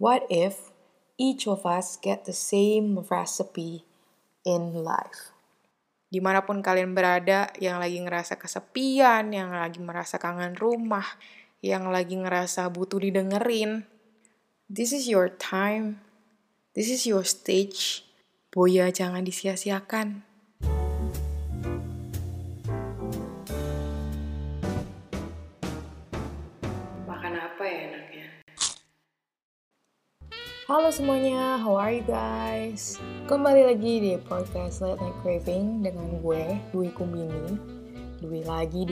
What if each of us get the same recipe in life? Dimanapun kalian berada, yang lagi ngerasa kesepian, yang lagi merasa kangen rumah, yang lagi ngerasa butuh didengerin, this is your time, this is your stage. Boya jangan disia-siakan. Makan apa ya enaknya? Halo semuanya, how are you guys? Kembali lagi di podcast Late Night Craving dengan gue, Dwi Kumbini. Dwi lagi.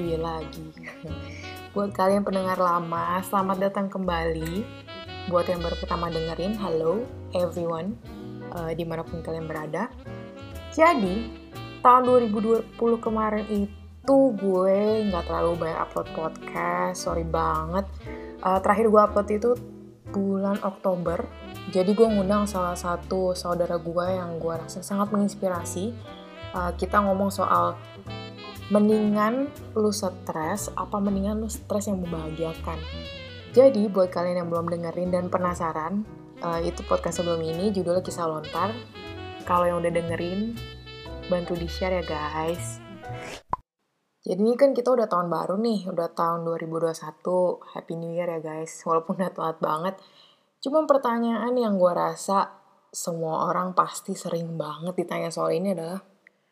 Buat kalian pendengar lama, selamat datang kembali. Buat yang baru pertama dengerin, hello everyone, dimanapun kalian berada. Jadi, tahun 2020 kemarin itu gue nggak terlalu banyak upload podcast, sorry banget. Terakhir gue upload itu bulan Oktober. Jadi gue ngundang salah satu saudara gue yang gue rasa sangat menginspirasi. Kita ngomong soal mendingan lu stres apa mendingan lu stres yang membahagiakan. Jadi buat kalian yang belum dengerin dan penasaran, itu podcast sebelum ini judulnya Kisah Lontar. Kalau yang udah dengerin, bantu di-share ya guys. Jadi ini kan kita udah tahun baru nih, udah tahun 2021. Happy New Year ya guys, walaupun udah telat banget. Cuma pertanyaan yang gue rasa semua orang pasti sering banget ditanya soal ini adalah,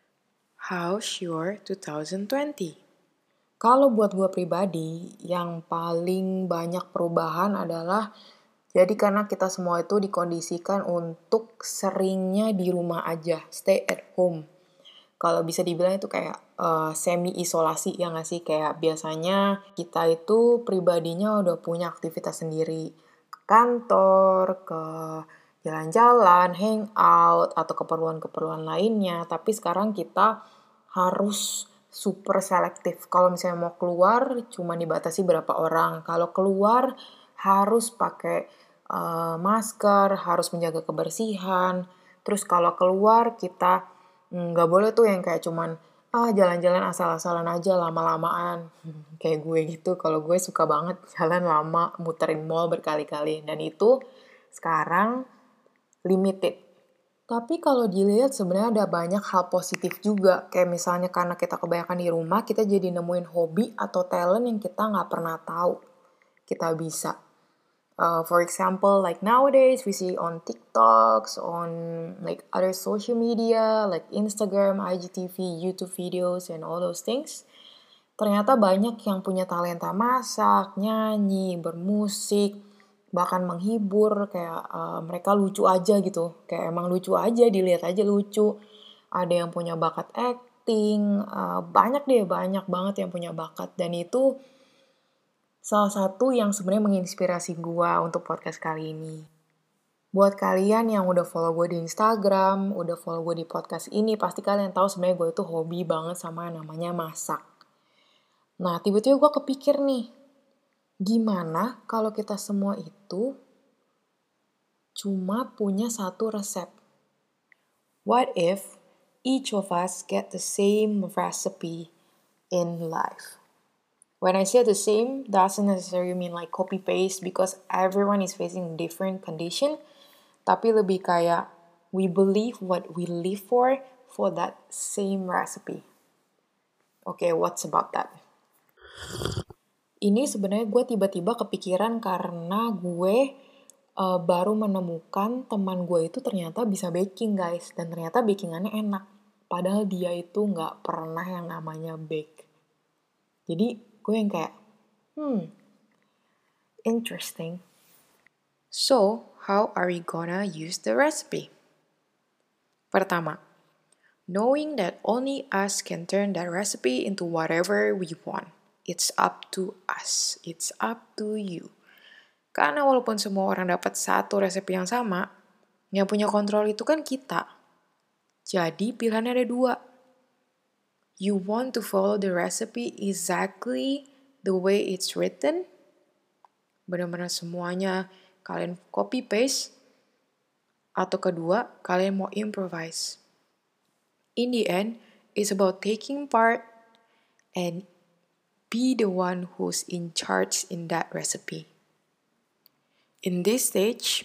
how's your 2020? Kalau buat gue pribadi, yang paling banyak perubahan adalah jadi karena kita semua itu dikondisikan untuk seringnya di rumah aja, stay at home. Kalau bisa dibilang itu kayak semi-isolasi ya nggak sih? Kayak biasanya kita itu pribadinya udah punya aktivitas sendiri. Ke kantor, ke jalan-jalan, hangout, atau keperluan-keperluan lainnya. Tapi sekarang kita harus super selektif. Kalau misalnya mau keluar, cuma dibatasi berapa orang. Kalau keluar, harus pakai masker, harus menjaga kebersihan. Terus kalau keluar, kita nggak boleh tuh yang kayak cuman jalan-jalan asal-asalan aja lama-lamaan. Kayak gue gitu, kalau gue suka banget jalan lama, muterin mall berkali-kali. Dan itu sekarang limited. Tapi kalau dilihat sebenarnya ada banyak hal positif juga. Kayak misalnya karena kita kebanyakan di rumah, kita jadi nemuin hobi atau talent yang kita nggak pernah tahu kita bisa. For example, like nowadays we see on TikToks, on like other social media, like Instagram, IGTV, YouTube videos, and all those things. Ternyata banyak yang punya talenta masak, nyanyi, bermusik, bahkan menghibur, kayak mereka lucu aja gitu. Kayak emang lucu aja, dilihat aja lucu. Ada yang punya bakat acting, banyak banget yang punya bakat. Dan itu salah satu yang sebenarnya menginspirasi gue untuk podcast kali ini. Buat kalian yang udah follow gue di Instagram, udah follow gue di podcast ini, pasti kalian tahu sebenarnya gue itu hobi banget sama namanya masak. Nah, tiba-tiba gue kepikir nih, gimana kalau kita semua itu cuma punya satu resep? What if each of us get the same recipe in life? When I say the same, doesn't necessarily mean like copy-paste because everyone is facing different condition. Tapi lebih kayak we believe what we live for that same recipe. Okay, what's about that? Ini sebenarnya gue tiba-tiba kepikiran karena gue baru menemukan teman gue itu ternyata bisa baking guys. Dan ternyata bakingannya enak. Padahal dia itu gak pernah yang namanya bake. Jadi gue yang kayak, interesting. So, how are we gonna use the recipe? Pertama, knowing that only us can turn that recipe into whatever we want. It's up to us. It's up to you. Karena walaupun semua orang dapat satu resep yang sama, yang punya kontrol itu kan kita. Jadi pilihannya ada dua. You want to follow the recipe exactly the way it's written? Benar-benar semuanya kalian copy paste? Atau kedua, kalian mau improvise? In the end, it's about taking part and be the one who's in charge in that recipe. In this stage,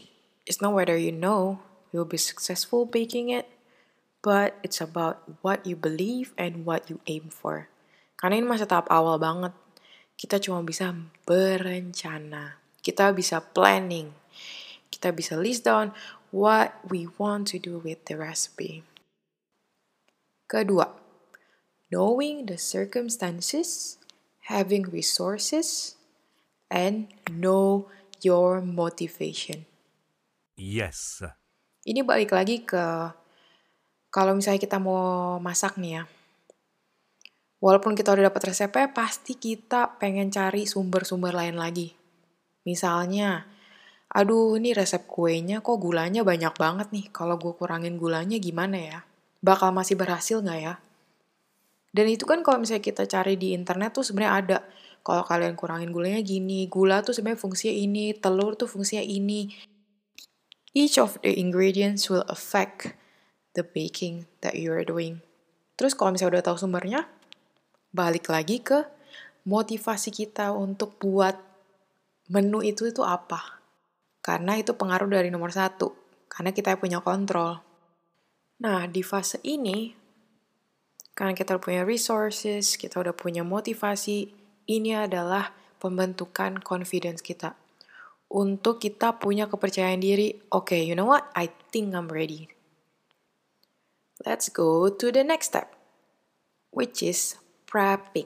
It's not whether you know you'll be successful baking it, but it's about what you believe and what you aim for. Karena ini masih tahap awal banget. Kita cuma bisa berencana. Kita bisa planning. Kita bisa list down what we want to do with the recipe. Kedua, knowing the circumstances, having resources, and know your motivation. Yes. Ini balik lagi ke kalau misalnya kita mau masak nih ya. Walaupun kita udah dapat resepnya, pasti kita pengen cari sumber-sumber lain lagi. Misalnya, aduh ini resep kuenya kok gulanya banyak banget nih. Kalau gue kurangin gulanya gimana ya? Bakal masih berhasil nggak ya? Dan itu kan kalau misalnya kita cari di internet tuh sebenarnya ada. Kalau kalian kurangin gulanya gini, gula tuh sebenarnya fungsinya ini, telur tuh fungsinya ini. Each of the ingredients will affect the baking that you are doing. Terus kalau misalnya udah tahu sumbernya, balik lagi ke motivasi kita untuk buat menu itu apa. Karena itu pengaruh dari nomor 1. Karena kita punya kontrol. Nah, di fase ini, karena kita punya resources, kita udah punya motivasi, ini adalah pembentukan confidence kita. Untuk kita punya kepercayaan diri, okay, you know what? I think I'm ready. Let's go to the next step, which is prepping.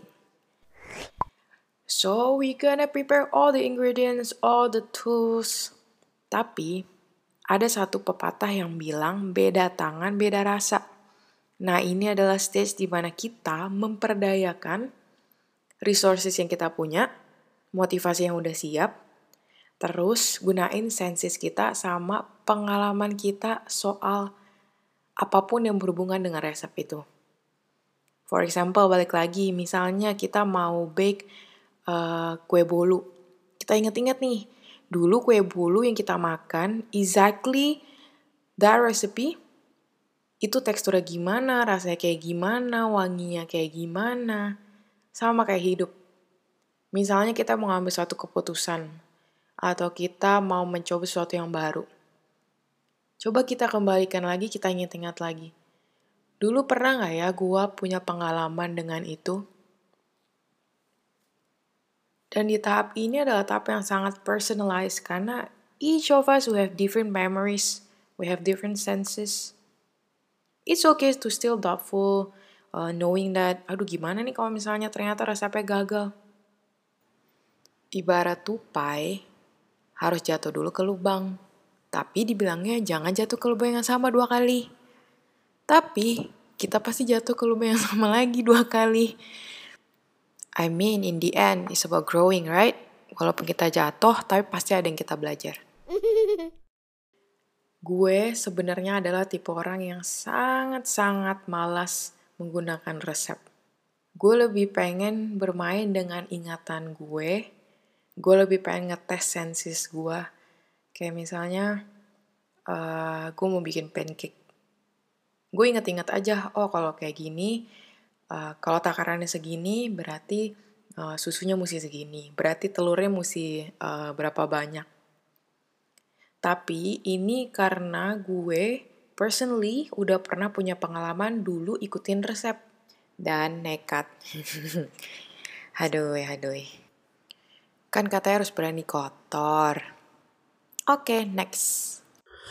So, we gonna prepare all the ingredients, all the tools. Tapi, ada satu pepatah yang bilang beda tangan, beda rasa. Nah, ini adalah stage di mana kita memperdayakan resources yang kita punya, motivasi yang udah siap, terus gunain senses kita sama pengalaman kita soal apapun yang berhubungan dengan resep itu. For example, balik lagi, misalnya kita mau bake kue bolu. Kita inget-inget nih, dulu kue bolu yang kita makan, exactly that recipe, itu teksturnya gimana, rasanya kayak gimana, wanginya kayak gimana, sama kayak hidup. Misalnya kita mau ngambil suatu keputusan, atau kita mau mencoba sesuatu yang baru. Coba kita kembalikan lagi, kita ingat-ingat lagi. Dulu pernah nggak ya gue punya pengalaman dengan itu? Dan di tahap ini adalah tahap yang sangat personalized karena each of us we have different memories, we have different senses. It's okay to still doubtful, knowing that, aduh gimana nih kalau misalnya ternyata resepnya gagal. Ibarat tupai, harus jatuh dulu ke lubang. Tapi dibilangnya jangan jatuh ke lubang yang sama 2 kali. Tapi kita pasti jatuh ke lubang yang sama lagi 2 kali. I mean, in the end, it's about growing, right? Walaupun kita jatuh, tapi pasti ada yang kita belajar. Gue sebenarnya adalah tipe orang yang sangat-sangat malas menggunakan resep. Gue lebih pengen bermain dengan ingatan gue. Gue lebih pengen ngetes senses gue. Kayak misalnya, gue mau bikin pancake. Gue inget-inget aja, oh kalau kayak gini, kalau takarannya segini, berarti susunya mesti segini. Berarti telurnya mesti berapa banyak. Tapi ini karena gue personally udah pernah punya pengalaman dulu ikutin resep. Dan nekat. Haduh. Kan katanya harus berani kotor. Oke, next.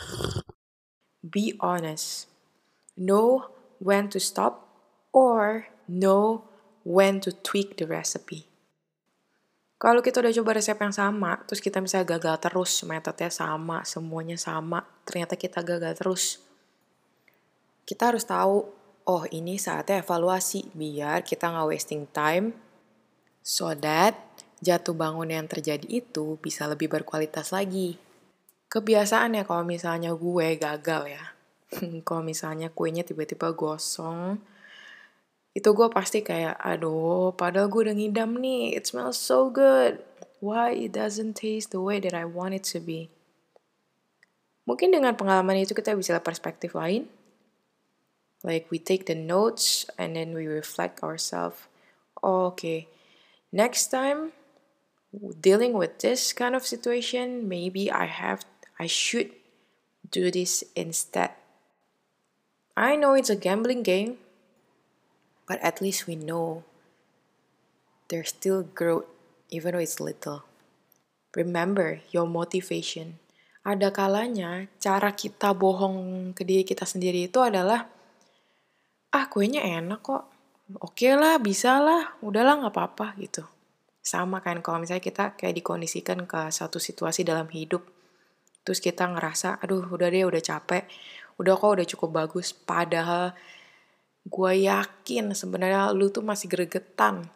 Be honest. Know when to stop or know when to tweak the recipe. Kalau kita udah coba resep yang sama, terus kita misalnya gagal terus, metodenya sama, semuanya sama, ternyata kita gagal terus. Kita harus tahu, oh ini saatnya evaluasi, biar kita nggak wasting time, so that jatuh bangun yang terjadi itu bisa lebih berkualitas lagi. Kebiasaan ya kalau misalnya gue gagal ya, kalau misalnya kuenya tiba-tiba gosong, itu gue pasti kayak, aduh, padahal gue udah ngidam nih, it smells so good. Why it doesn't taste the way that I want it to be? Mungkin dengan pengalaman itu kita bisa lihat perspektif lain. Like we take the notes and then we reflect ourselves. Oh, okay, next time dealing with this kind of situation, maybe I should do this instead. I know it's a gambling game, but at least we know there's still growth even though it's little. Remember your motivation. Ada kalanya cara kita bohong ke diri kita sendiri itu adalah, kuenya enak kok, oke lah, bisa lah, udahlah gak apa-apa gitu. Sama kan kalau misalnya kita kayak dikondisikan ke satu situasi dalam hidup, terus kita ngerasa, aduh udah deh, udah capek, udah kok udah cukup bagus, padahal gue yakin sebenarnya lu tuh masih gregetan.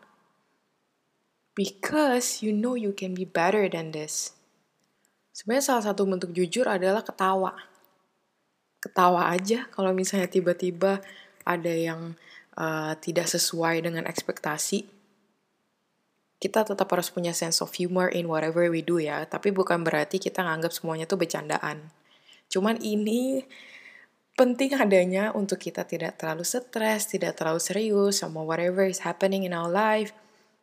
Because you know you can be better than this. Sebenarnya salah satu bentuk jujur adalah ketawa. Ketawa aja kalau misalnya tiba-tiba ada yang tidak sesuai dengan ekspektasi. Kita tetap harus punya sense of humor in whatever we do ya, tapi bukan berarti kita nganggap semuanya tuh bercandaan. Cuman ini penting adanya untuk kita tidak terlalu stres, tidak terlalu serius sama whatever is happening in our life.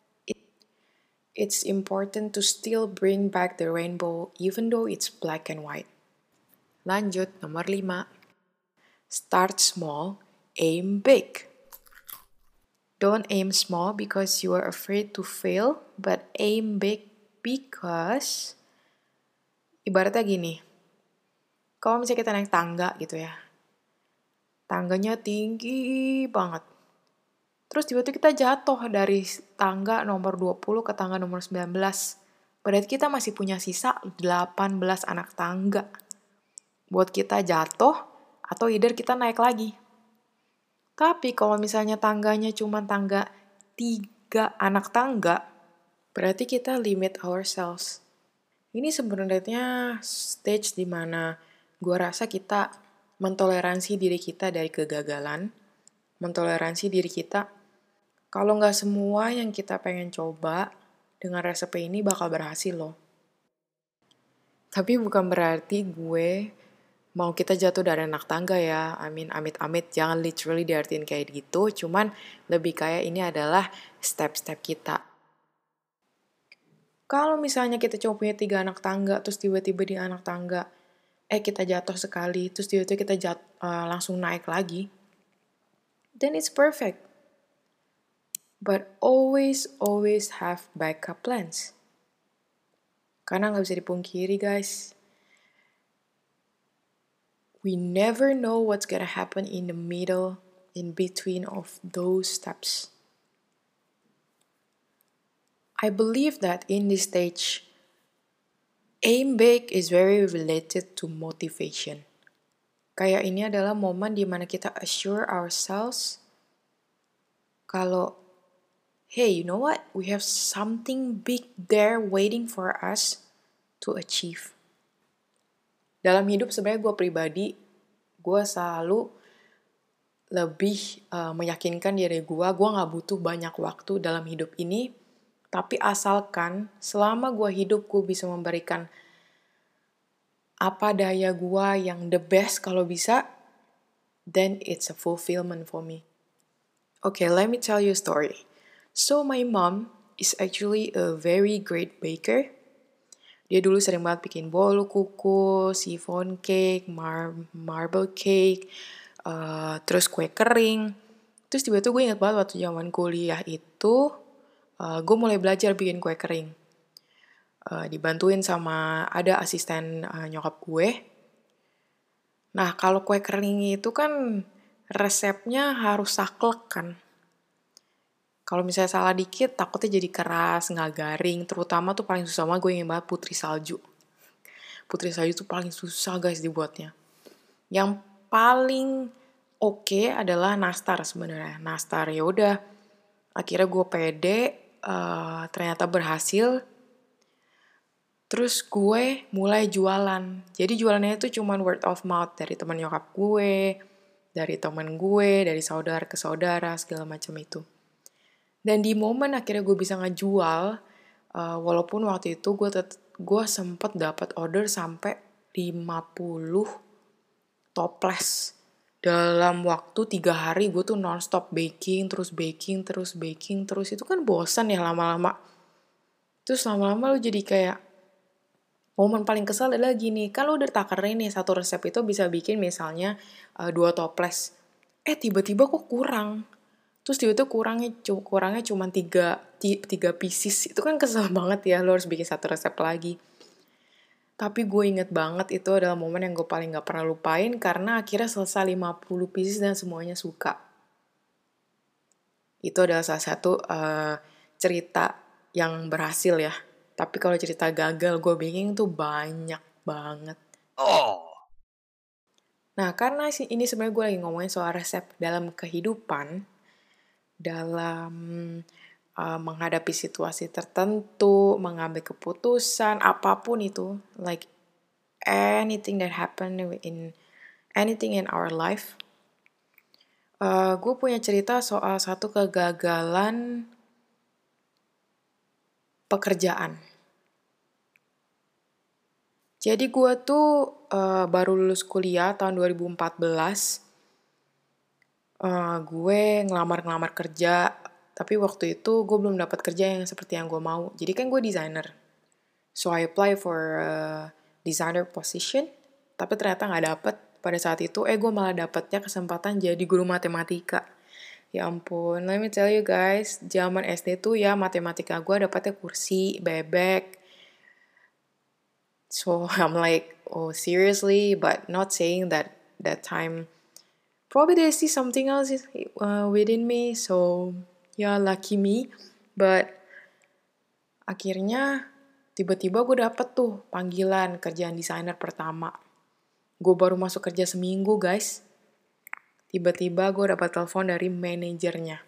It's important to still bring back the rainbow even though it's black and white. Lanjut, nomor 5. Start small, aim big. Don't aim small because you are afraid to fail, but aim big because ibaratnya gini. Kalau misalnya kita naik tangga gitu ya. Tangganya tinggi banget. Terus tiba-tiba kita jatuh dari tangga nomor 20 ke tangga nomor 19. Berarti kita masih punya sisa 18 anak tangga. Buat kita jatuh atau either kita naik lagi. Tapi kalau misalnya tangganya cuma tangga 3 anak tangga, berarti kita limit ourselves. Ini sebenarnya stage dimana gue rasa kita mentoleransi diri kita dari kegagalan, mentoleransi diri kita kalau nggak semua yang kita pengen coba dengan resep ini bakal berhasil loh. Tapi bukan berarti gue mau kita jatuh dari anak tangga ya. Amit-amit, jangan literally diartiin kayak gitu. Cuman lebih kayak ini adalah step-step kita. Kalau misalnya kita cuma punya 3 anak tangga, terus tiba-tiba di anak tangga, kita jatuh sekali, terus tiba-tiba kita langsung naik lagi, then it's perfect. But always have backup plans. Karena nggak bisa dipungkiri guys, we never know what's gonna happen in the middle, in between of those steps. I believe that in this stage, aim big is very related to motivation. Kayak ini adalah momen dimana kita assure ourselves kalau hey, you know what? We have something big there waiting for us to achieve. Dalam hidup sebenarnya gue pribadi, gue selalu lebih meyakinkan diri gue gak butuh banyak waktu dalam hidup ini, tapi asalkan selama gue hidup gue bisa memberikan apa daya gue yang the best kalau bisa, then it's a fulfillment for me. Okay, let me tell you a story. So my mom is actually a very great baker. Dia dulu sering banget bikin bolu kuku, chiffon cake, marble cake, terus kue kering. Terus tiba-tiba gue ingat banget waktu zaman kuliah itu, gue mulai belajar bikin kue kering. Dibantuin sama ada asisten nyokap gue. Nah kalau kue kering itu kan resepnya harus saklek kan. Kalau misalnya salah dikit, takutnya jadi keras, nggak garing. Terutama tuh paling susah banget gue ingin banget putri salju. Putri salju tuh paling susah guys dibuatnya. Yang paling oke adalah nastar sebenarnya. Nastar ya udah. Akhirnya gue pede, ternyata berhasil. Terus gue mulai jualan. Jadi jualannya itu cuma word of mouth dari teman nyokap gue, dari teman gue, dari saudara ke saudara, segala macam itu. Dan di momen akhirnya gue bisa ngejual, walaupun waktu itu gue sempet dapat order sampai 50 toples. Dalam waktu 3 hari gue tuh non-stop baking, terus itu kan bosan ya lama-lama. Terus lama-lama lu jadi kayak, Momen paling kesel adalah gini, kan lu udah takerin nih satu resep itu bisa bikin misalnya 2 toples. Tiba-tiba kok kurang. Terus tiba-tiba kurangnya cuma 3 pieces. Itu kan kesel banget ya, lu harus bikin satu resep lagi. Tapi gue inget banget itu adalah momen yang gue paling gak pernah lupain karena akhirnya selesai 50 pieces dan semuanya suka. Itu adalah salah satu cerita yang berhasil ya. Tapi kalau cerita gagal gue bikin tuh banyak banget. Oh. Nah, karena ini sebenarnya gue lagi ngomongin soal resep dalam kehidupan, dalam menghadapi situasi tertentu, mengambil keputusan, apapun itu, like anything that happen in anything in our life. Gue punya cerita soal satu kegagalan pekerjaan. Jadi gue tuh baru lulus kuliah tahun 2014. Gue ngelamar kerja, tapi waktu itu gue belum dapat kerja yang seperti yang gue mau. Jadi kan gue designer. So I apply for designer position, tapi ternyata nggak dapet. Pada saat itu, gue malah dapetnya kesempatan jadi guru matematika. Ya ampun, let me tell you guys, zaman SD tuh ya matematika gue dapetnya kursi, bebek. So I'm like, oh seriously, but not saying that time. Probably they see something else within me, so yeah, lucky me. But akhirnya tiba-tiba gue dapet tuh panggilan kerjaan desainer pertama. Gue baru masuk kerja seminggu guys. Tiba-tiba gue dapat telepon dari manajernya.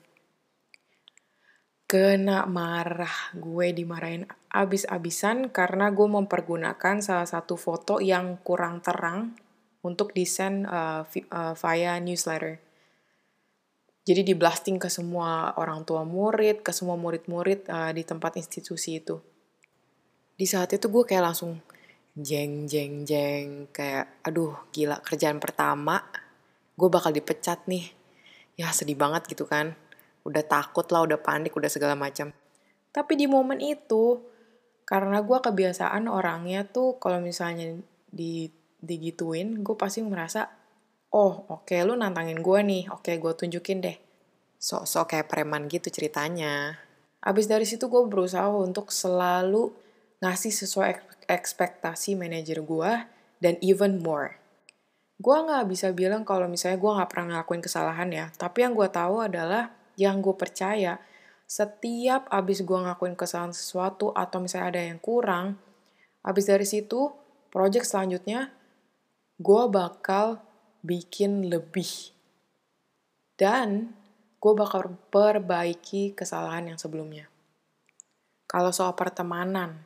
Kena marah, gue dimarahin abis-abisan karena gue mempergunakan salah satu foto yang kurang terang untuk desain via newsletter. Jadi di-blasting ke semua orang tua murid, ke semua murid-murid di tempat institusi itu. Di saat itu gue kayak langsung jeng, kayak aduh gila kerjaan pertama, gue bakal dipecat nih. Ya sedih banget gitu kan. Udah takut lah, udah panik, udah segala macam. Tapi di momen itu, karena gue kebiasaan orangnya tuh kalau misalnya digituin, gue pasti merasa, oh oke, lu nantangin gue nih, oke gue tunjukin deh. Sok-sok kayak preman gitu ceritanya. Abis dari situ gue berusaha untuk selalu ngasih sesuai ekspektasi manajer gue dan even more. Gue gak bisa bilang kalau misalnya gue gak pernah ngelakuin kesalahan ya, tapi yang gue tahu adalah yang gue percaya setiap abis gue ngelakuin kesalahan sesuatu atau misalnya ada yang kurang, abis dari situ project selanjutnya gue bakal bikin lebih dan gue bakal perbaiki kesalahan yang sebelumnya. Kalau soal pertemanan,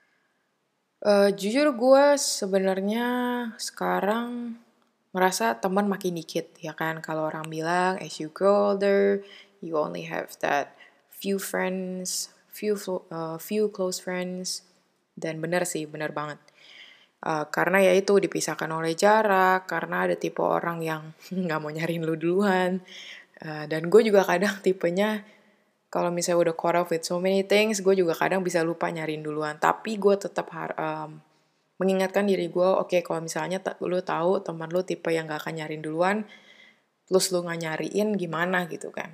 jujur gue sebenarnya sekarang merasa teman makin dikit, ya kan? Kalau orang bilang, as you grow older, you only have that few friends, few close friends. Dan benar sih, benar banget. Karena ya itu dipisahkan oleh jarak, karena ada tipe orang yang nggak mau nyariin lu duluan. Dan gue juga kadang tipenya, kalau misalnya udah caught up with so many things, gue juga kadang bisa lupa nyariin duluan. Tapi gue tetap mengingatkan diri gue, oke, kalau misalnya lu tahu teman lu tipe yang gak akan nyariin duluan, terus lu gak nyariin gimana gitu kan.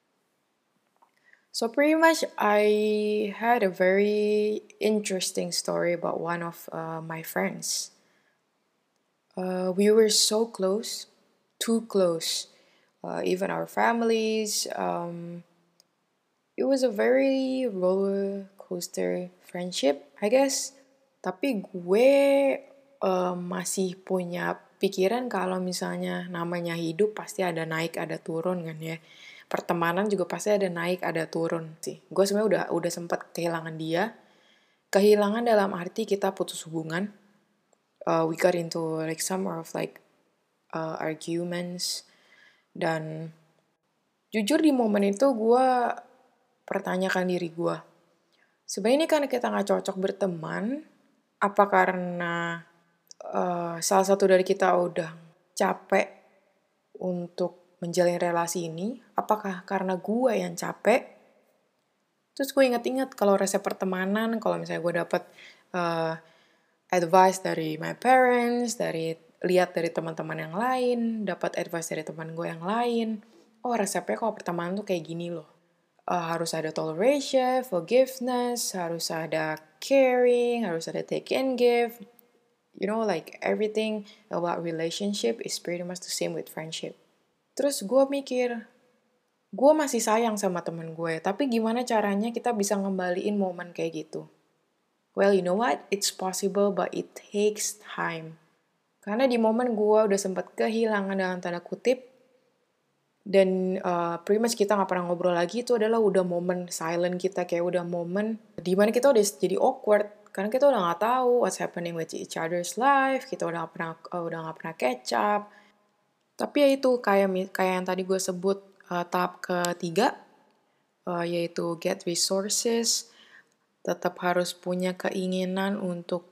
So pretty much I had a very interesting story about one of my friends. We were so close, too close. Even our families, it was a very roller coaster friendship, I guess. Tapi gue masih punya pikiran kalau misalnya namanya hidup pasti ada naik, ada turun kan ya. Pertemanan juga pasti ada naik, ada turun sih. Gue sebenarnya udah sempat kehilangan dia. Kehilangan dalam arti kita putus hubungan. We got into like some of like arguments. Dan jujur di momen itu gue pertanyakan diri gue. Sebenarnya ini karena kita gak cocok berteman, apa karena salah satu dari kita udah capek untuk menjalin relasi ini? Apakah karena gue yang capek? Terus gue inget-inget kalau resep pertemanan, kalau misalnya gue dapet advice dari my parents, lihat dari teman-teman yang lain, dapat advice dari teman gue yang lain. Oh, resepnya kalau pertemanan tuh kayak gini loh. Harus ada toleration, forgiveness, harus ada caring, harus ada take and give. You know, like everything about relationship is pretty much the same with friendship. Terus gue mikir, gue masih sayang sama temen gue, tapi gimana caranya kita bisa ngembaliin momen kayak gitu? Well, you know what? It's possible, but it takes time. Karena di momen gue udah sempat kehilangan dalam tanda kutip, dan pretty much kita gak pernah ngobrol lagi, itu adalah udah momen silent kita, kayak udah momen dimana kita udah jadi awkward, karena kita udah gak tahu what's happening with each other's life, kita udah gak pernah catch up. Tapi ya itu, kayak yang tadi gue sebut, tahap ketiga, yaitu get resources, tetap harus punya keinginan untuk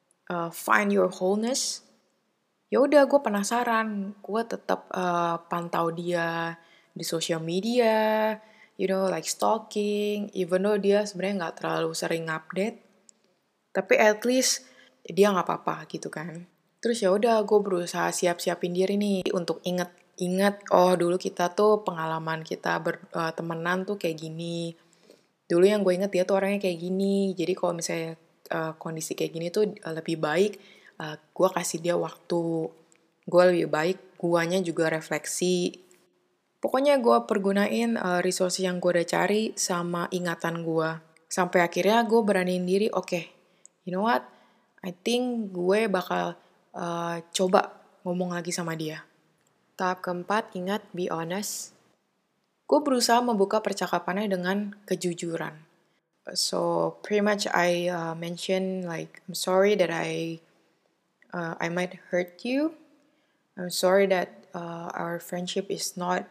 find your wholeness. Ya udah, gue penasaran, gue tetap pantau dia di social media, you know, like stalking, even though dia sebenarnya nggak terlalu sering update, tapi at least dia nggak apa-apa gitu kan. Terus ya udah, gue berusaha siapin diri nih untuk inget, oh dulu kita tuh pengalaman kita bertemenan tuh kayak gini. Dulu yang gue inget dia tuh orangnya kayak gini, jadi kalau misalnya kondisi kayak gini tuh lebih baik gue kasih dia waktu, gue lebih baik guanya juga refleksi. Pokoknya gue pergunain resource yang gue udah cari sama ingatan gue. Sampai akhirnya gue beraniin diri, oke, you know what, I think gue bakal coba ngomong lagi sama dia. Tahap keempat, ingat, be honest. Gue berusaha membuka percakapannya dengan kejujuran. So pretty much I mentioned like, I'm sorry that I might hurt you. I'm sorry that our friendship is not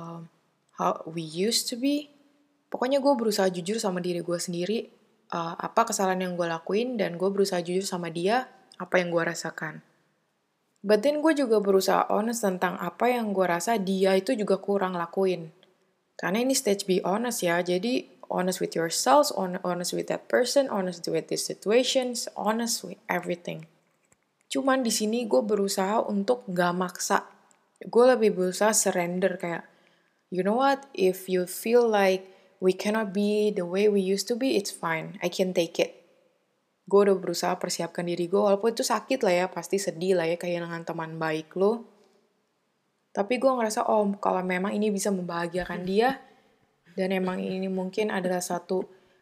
how we used to be. Pokoknya gue berusaha jujur sama diri gue sendiri, apa kesalahan yang gue lakuin, dan gue berusaha jujur sama dia, apa yang gue rasakan. But then gue juga berusaha honest tentang apa yang gue rasa dia itu juga kurang lakuin. Karena ini stage be honest ya, jadi honest with yourselves, honest with that person, honest with these situations, honest with everything. Cuman di sini gue berusaha untuk gak maksa. Gue lebih berusaha surrender, kayak, you know what, if you feel like we cannot be the way we used to be, it's fine, I can take it. Gue udah berusaha persiapkan diri gue, walaupun itu sakit lah ya, pasti sedih lah ya kehilangan teman baik lo. Tapi gue ngerasa, oh kalau memang ini bisa membahagiakan dia, dan emang ini mungkin adalah satu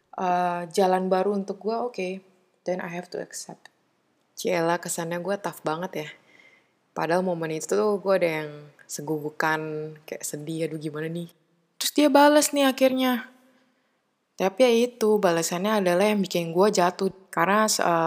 jalan baru untuk gue, okay, then I have to accept. Ciela, kesannya gue tough banget ya. Padahal momen itu tuh gue ada yang segugukan, kayak sedih, aduh gimana nih. Terus dia balas nih akhirnya. Tapi ya itu, balasannya adalah yang bikin gue jatuh. Karena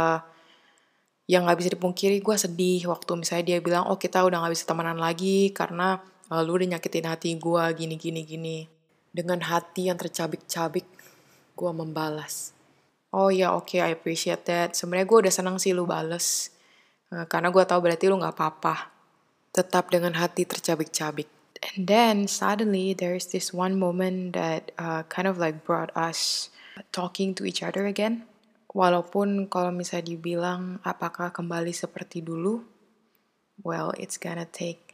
yang gak bisa dipungkiri, gue sedih waktu misalnya dia bilang, oh kita udah gak bisa temenan lagi karena lu udah nyakitin hati gue, gini. Dengan hati yang tercabik-cabik, gue membalas. Oh ya, oke, I appreciate that. Sebenarnya gue udah senang sih lu bales. Karena gue tahu berarti lu gak apa-apa. Tetap dengan hati tercabik-cabik. And then suddenly there's this one moment that kind of like brought us talking to each other again. Walaupun kalau misalnya dibilang apakah kembali seperti dulu, well, it's gonna take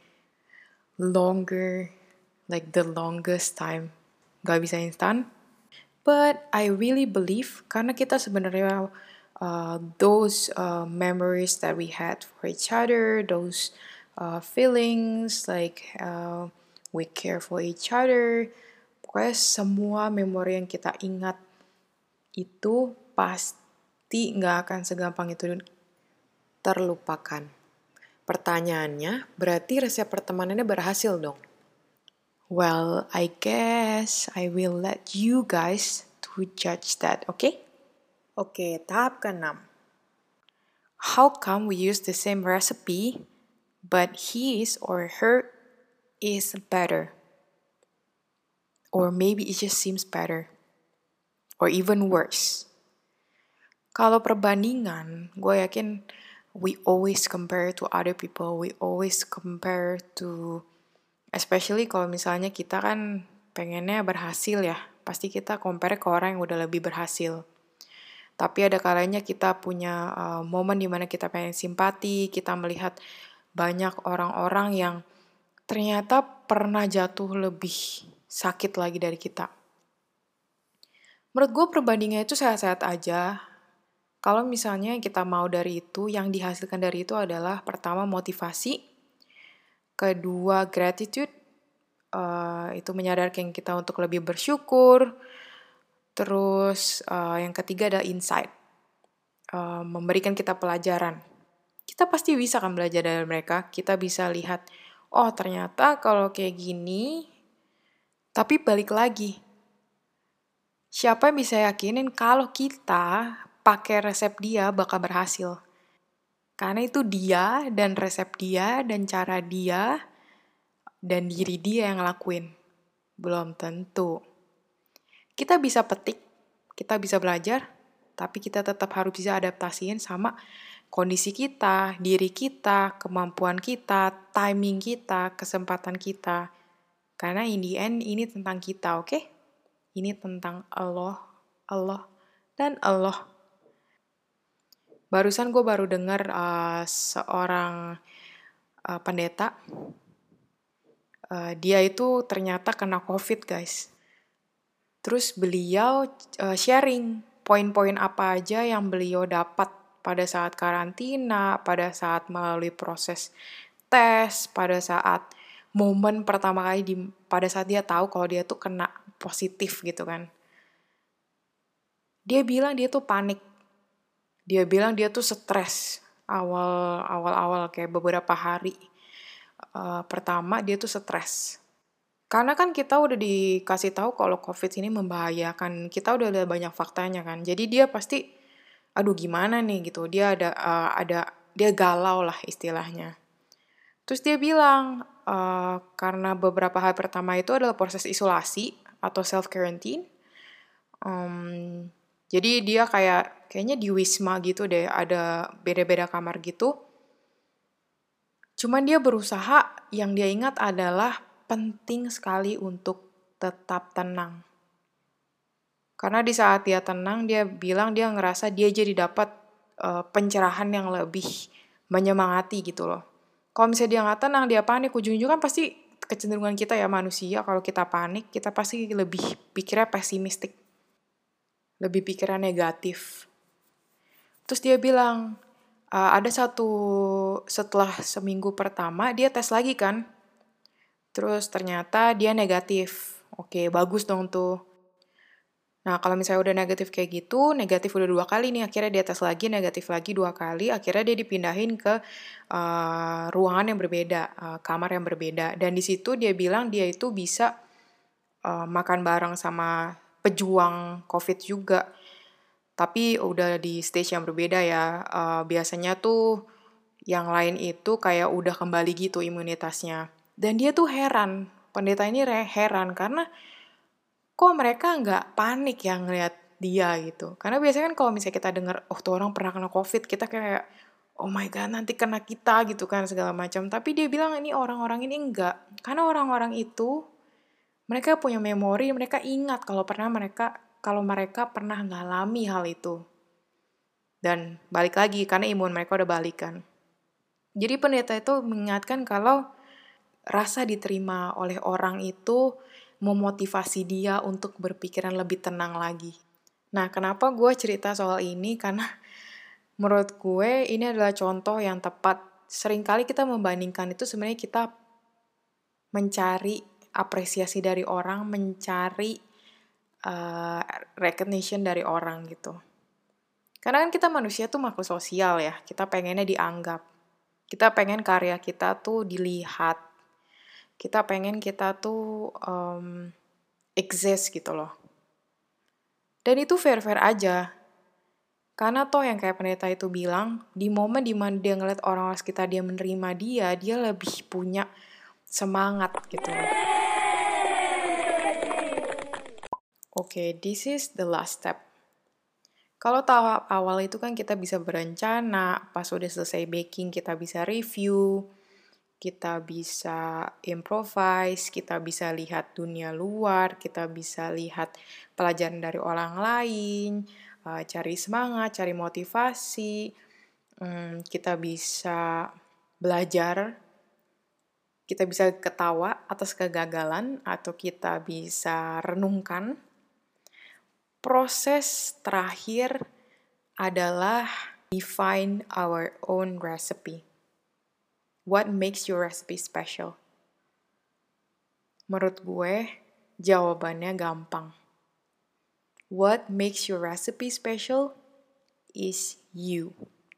longer, like the longest time. Gak bisa instan. But I really believe, karena kita sebenarnya those memories that we had for each other, those feelings, like we care for each other, pokoknya semua memori yang kita ingat itu pasti gak akan segampang itu terlupakan. Pertanyaannya, berarti resep pertemanannya berhasil dong? Well, I guess I will let you guys to judge that, okay? Okay, tahap ke-6. How come we use the same recipe, but his or her is better? Or maybe it just seems better. Or even worse. Kalau perbandingan, gue yakin we always compare to other people. We always compare to, especially kalau misalnya kita kan pengennya berhasil ya. Pasti kita compare ke orang yang udah lebih berhasil. Tapi ada kalanya kita punya momen dimana kita pengen simpati, kita melihat banyak orang-orang yang ternyata pernah jatuh lebih sakit lagi dari kita. Menurut gue perbandingannya itu sehat-sehat aja. Kalau misalnya kita mau dari itu, yang dihasilkan dari itu adalah pertama motivasi, kedua gratitude, itu menyadarkan kita untuk lebih bersyukur, terus yang ketiga adalah insight, memberikan kita pelajaran. Kita pasti bisa kan belajar dari mereka, kita bisa lihat, oh ternyata kalau kayak gini, tapi balik lagi, siapa yang bisa yakinin kalau kita pakai resep dia bakal berhasil? Karena itu dia dan resep dia dan cara dia dan diri dia yang ngelakuin. Belum tentu. Kita bisa petik, kita bisa belajar, tapi kita tetap harus bisa adaptasiin sama kondisi kita, diri kita, kemampuan kita, timing kita, kesempatan kita. Karena in the end ini tentang kita, oke? Ini tentang Allah, dan Allah. Barusan gue baru dengar seorang pendeta, dia itu ternyata kena COVID, guys. Terus beliau sharing poin-poin apa aja yang beliau dapat pada saat karantina, pada saat melalui proses tes, pada saat momen pertama kali pada saat dia tahu kalau dia tuh kena positif gitu kan. Dia bilang dia tuh panik. Dia bilang dia tuh stres awal-awal kayak beberapa hari pertama dia tuh stres. Karena kan kita udah dikasih tahu kalau COVID ini membahayakan. Kita udah ada banyak faktanya kan. Jadi dia pasti, aduh gimana nih gitu. Dia dia galau lah istilahnya. Terus dia bilang, karena beberapa hari pertama itu adalah proses isolasi atau self-quarantine. Jadi dia kayaknya di Wisma gitu deh, ada beda-beda kamar gitu. Cuman dia berusaha, yang dia ingat adalah penting sekali untuk tetap tenang. Karena di saat dia tenang, dia bilang dia ngerasa dia jadi dapat pencerahan yang lebih menyemangati gitu loh. Kalau misalnya dia nggak tenang, dia panik, ujung-ujungnya kan pasti kecenderungan kita ya manusia, kalau kita panik, kita pasti lebih pikirnya pesimistik. Lebih pikiran negatif. Terus dia bilang, ada setelah seminggu pertama, dia tes lagi kan. Terus ternyata dia negatif. Oke, bagus dong tuh. Nah, kalau misalnya udah negatif kayak gitu, negatif udah 2 kali nih, akhirnya dia tes lagi, negatif lagi 2 kali, akhirnya dia dipindahin ke ruangan yang berbeda, kamar yang berbeda. Dan di situ dia bilang dia itu bisa makan bareng sama pejuang COVID juga. Tapi udah di stage yang berbeda ya. Biasanya tuh yang lain itu kayak udah kembali gitu imunitasnya. Dan dia tuh heran, pendeta ini heran karena kok mereka nggak panik ya ngeliat dia gitu. Karena biasanya kan kalau misalnya kita dengar, oh tuh orang pernah kena COVID, kita kayak, oh my god nanti kena kita gitu kan segala macam. Tapi dia bilang ini orang-orang ini enggak. Karena orang-orang itu, mereka punya memori, mereka ingat kalau mereka pernah ngalami hal itu. Dan balik lagi, karena imun mereka udah balikan. Jadi pendeta itu mengingatkan kalau rasa diterima oleh orang itu memotivasi dia untuk berpikiran lebih tenang lagi. Nah, kenapa gue cerita soal ini? Karena menurut gue ini adalah contoh yang tepat. Seringkali kita membandingkan itu sebenarnya kita mencari apresiasi dari orang, mencari recognition dari orang gitu. Karena kan kita manusia tuh makhluk sosial ya, kita pengennya dianggap. Kita pengen karya kita tuh dilihat. Kita pengen kita tuh exist gitu loh. Dan itu fair-fair aja. Karena toh yang kayak pendeta itu bilang, di momen dimana dia ngeliat orang-orang sekitar dia menerima dia lebih punya semangat gitu loh. Oke, this is the last step. Kalau tahap awal itu kan kita bisa berencana, pas udah selesai baking kita bisa review, kita bisa improvise, kita bisa lihat dunia luar, kita bisa lihat pelajaran dari orang lain, cari semangat, cari motivasi, kita bisa belajar, kita bisa ketawa atas kegagalan, atau kita bisa renungkan. Proses terakhir adalah define our own recipe. What makes your recipe special? Menurut gue, jawabannya gampang. What makes your recipe special is you.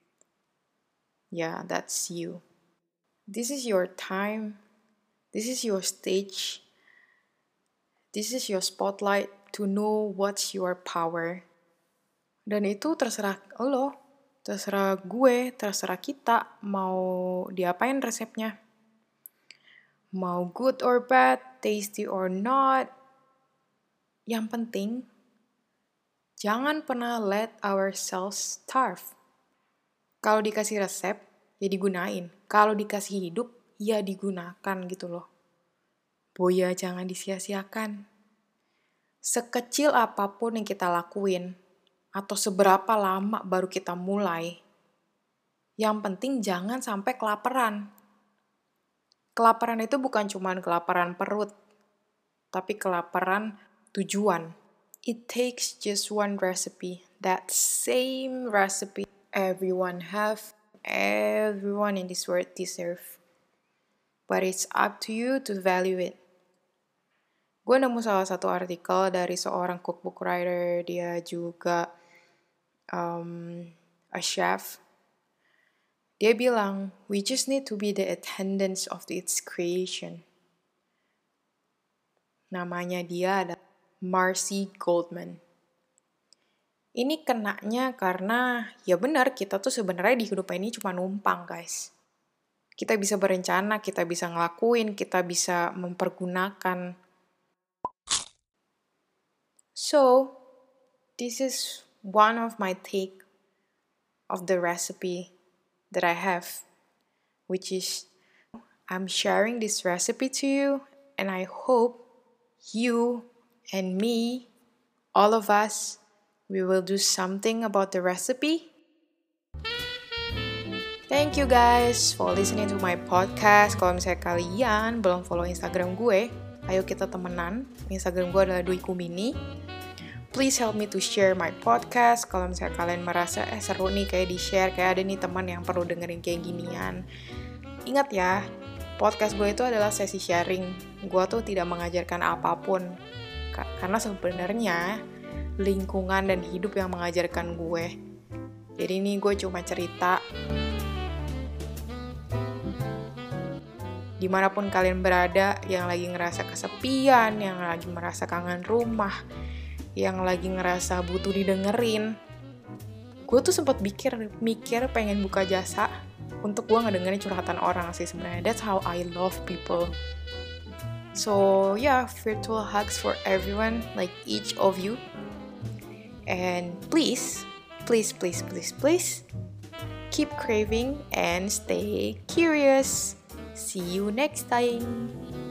Yeah, that's you. This is your time. This is your stage. This is your spotlight to know what's your power. Dan itu terserah lo, terserah gue, terserah kita mau diapain resepnya. Mau good or bad, tasty or not. Yang penting, jangan pernah let ourselves starve. Kalau dikasih resep, ya digunain. Kalau dikasih hidup, ya digunakan gitu loh. Boya jangan disia-siakan. Sekecil apapun yang kita lakuin, atau seberapa lama baru kita mulai, yang penting jangan sampai kelaparan. Kelaparan itu bukan cuma kelaparan perut, tapi kelaparan tujuan. It takes just one recipe, that same recipe everyone have, everyone in this world deserve. But it's up to you to value it. Gue nemu salah satu artikel dari seorang cookbook writer, dia juga a chef. Dia bilang, we just need to be the attendants of its creation. Namanya dia adalah Marcy Goldman. Ini kenanya karena, ya benar, kita tuh sebenarnya di hidup ini cuma numpang, guys. Kita bisa berencana, kita bisa ngelakuin, kita bisa mempergunakan. So, this is one of my take of the recipe that I have, which is I'm sharing this recipe to you, and I hope you and me, all of us, we will do something about the recipe. Thank you guys for listening to my podcast. Kalau misalnya kalian belum follow Instagram gue, ayo kita temenan. Instagram gue adalah Dwi Kumini. Please help me to share my podcast. Kalau misalnya kalian merasa seru nih kayak di-share, kayak ada nih teman yang perlu dengerin kayak ginian. Ingat ya, podcast gue itu adalah sesi sharing. Gue tuh tidak mengajarkan apapun. Karena sebenarnya lingkungan dan hidup yang mengajarkan gue. Jadi ini gue cuma cerita. Dimanapun kalian berada, yang lagi ngerasa kesepian, yang lagi merasa kangen rumah, yang lagi ngerasa butuh didengerin. Gue tuh sempat mikir pengen buka jasa untuk gue ngedengerin curhatan orang sih sebenarnya. That's how I love people. So yeah, virtual hugs for everyone, like each of you. And please, keep craving and stay curious. See you next time.